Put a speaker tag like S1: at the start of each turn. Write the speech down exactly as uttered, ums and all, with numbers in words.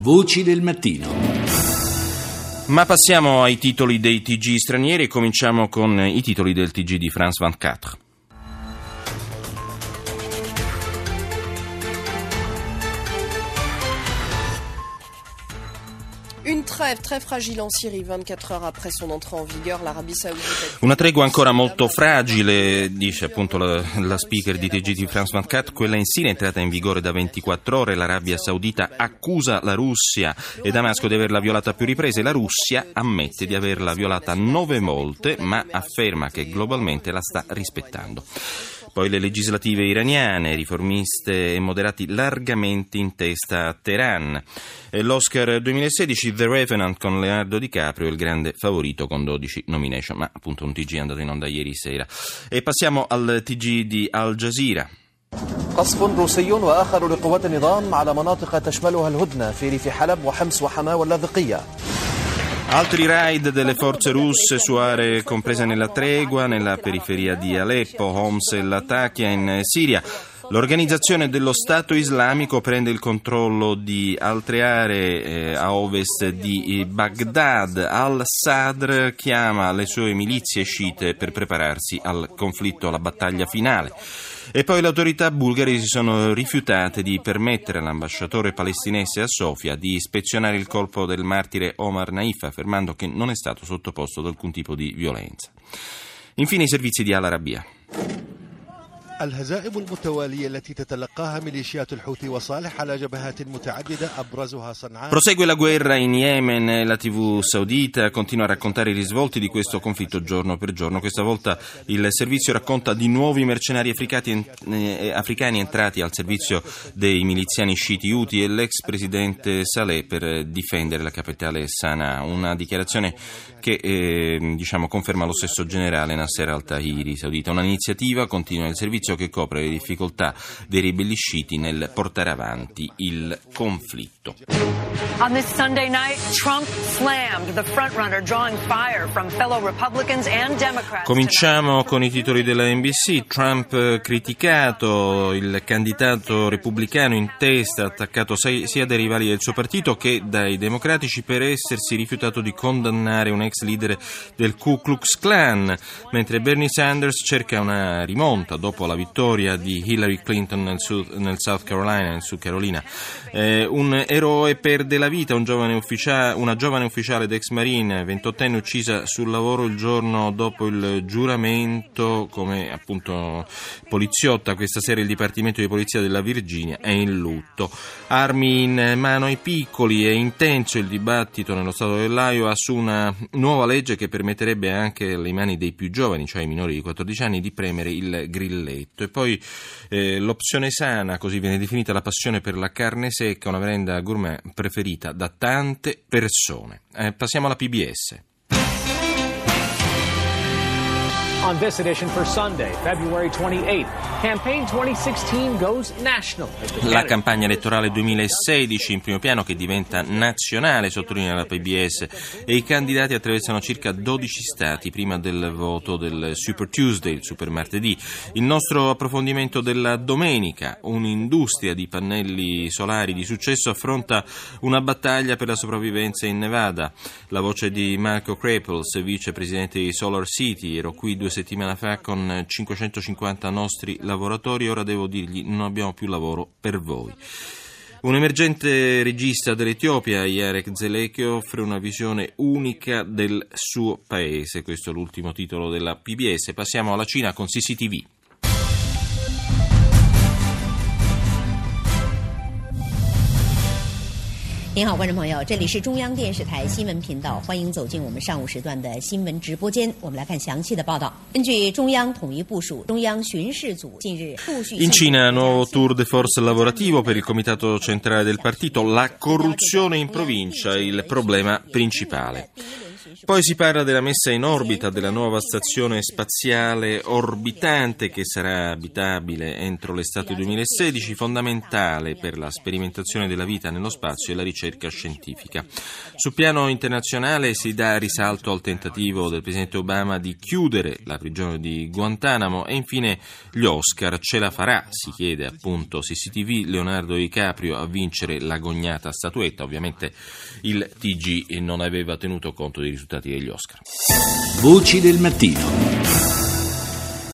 S1: Voci del mattino.
S2: Ma passiamo ai titoli dei T G stranieri e cominciamo con i titoli del T G di France ventiquattro.
S3: Une trêve très fragile en Syrie, ventiquattro heures après son entrée en vigueur, l'Arabia Saudita...
S2: Una tregua ancora molto fragile, dice appunto la, la speaker di T G di France ventiquattro, quella in Siria è entrata in vigore da ventiquattro ore, l'Arabia Saudita accusa la Russia e Damasco di averla violata a più riprese, la Russia ammette di averla violata nove volte, ma afferma che globalmente la sta rispettando. Poi le legislative iraniane, riformiste e moderati largamente in testa a Teheran. L'Oscar duemilasedici, The Revenant con Leonardo DiCaprio, il grande favorito con dodici nomination, ma appunto un T G è andato in onda ieri sera. E passiamo al T G di Al Jazeera.
S4: قصف روسي وآخر لقوات النظام على مناطق تشملها الهدنة في ريف حلب وحمص وحماة واللاذقية.
S2: Altri raid delle forze russe su aree comprese nella tregua, nella periferia di Aleppo, Homs e Latakia in Siria. L'organizzazione dello Stato Islamico prende il controllo di altre aree eh, a ovest di Baghdad. Al-Sadr chiama le sue milizie sciite per prepararsi al conflitto, alla battaglia finale. E poi le autorità bulgare si sono rifiutate di permettere all'ambasciatore palestinese a Sofia di ispezionare il corpo del martire Omar Naif, affermando che non è stato sottoposto ad alcun tipo di violenza. Infine i servizi di Al Arabiya.
S5: الهزائم المتوالية التي تتلقاها ميليشيات الحوثي وصالح على جبهات متعددة أبرزها صنعاء.
S2: Prosegue la guerra in Yemen, la tivù saudita continua a raccontare i risvolti di questo conflitto giorno per giorno. Questa volta il servizio racconta di nuovi mercenari africani, eh, africani entrati al servizio dei miliziani sciiti Houthi e l'ex presidente Saleh per difendere la capitale Sana'a. Una dichiarazione che eh, diciamo conferma lo stesso generale Nasser al-Tahiri saudita. Un'iniziativa, continua il servizio, che copre le difficoltà dei ribelli sciiti nel portare avanti il conflitto.
S6: On this Sunday night, Trump slammed the frontrunner, drawing fire from fellow Republicans and Democrats.
S2: Cominciamo con i titoli della N B C. Trump criticato, il candidato repubblicano in testa, attaccato sia dai rivali del suo partito che dai democratici per essersi rifiutato di condannare un ex leader del Ku Klux Klan, mentre Bernie Sanders cerca una rimonta dopo la vittoria di Hillary Clinton nel, Sud, nel South Carolina, nel Sud Carolina. Eh, un eroe perde la vita, un giovane ufficiale, una giovane ufficiale d'ex marine, ventottenne, uccisa sul lavoro il giorno dopo il giuramento come appunto poliziotta. Questa sera il Dipartimento di Polizia della Virginia è in lutto. Armi in mano ai piccoli, è intenso il dibattito nello stato dell'Iowa su una nuova legge che permetterebbe anche alle mani dei più giovani, cioè ai minori di quattordici anni, di premere il grilletto. E poi eh, l'opzione sana, così viene definita la passione per la carne secca, una merenda gourmet preferita da tante persone. Eh, passiamo alla P B S.
S7: On this edition for Sunday, February twenty-eighth, Campaign twenty sixteen goes national.
S2: La campagna elettorale duemilasedici in primo piano, che diventa nazionale, sottolinea la P B S, e i candidati attraversano circa dodici stati prima del voto del Super Tuesday, il Super Martedì. Il nostro approfondimento della domenica: un'industria di pannelli solari di successo affronta una battaglia per la sopravvivenza in Nevada. La voce di Marco Krapels, vicepresidente di Solar City. Ero qui due settimana fa con cinquecentocinquanta nostri lavoratori, ora devo dirgli non abbiamo più lavoro per voi. Un emergente regista dell'Etiopia, Yarek Zeleke, offre una visione unica del suo paese. Questo è l'ultimo titolo della P B S. Passiamo alla Cina con C C T V.
S8: 您好，观众朋友，这里是中央电视台新闻频道，欢迎走进我们上午时段的新闻直播间。我们来看详细的报道。根据中央统一部署，中央巡视组近日陆续
S2: In Cina, nuovo tour de force lavorativo per il comitato centrale del partito. La corruzione in provincia, il problema principale. Poi si parla della messa in orbita della nuova stazione spaziale orbitante che sarà abitabile entro l'estate duemilasedici, fondamentale per la sperimentazione della vita nello spazio e la ricerca scientifica. Sul piano internazionale si dà risalto al tentativo del presidente Obama di chiudere la prigione di Guantanamo e infine gli Oscar. Ce la farà, si chiede appunto C C T V, Leonardo DiCaprio a vincere l'agognata statuetta. Ovviamente il T G non aveva tenuto conto dei risultati degli Oscar.
S1: Voci del mattino.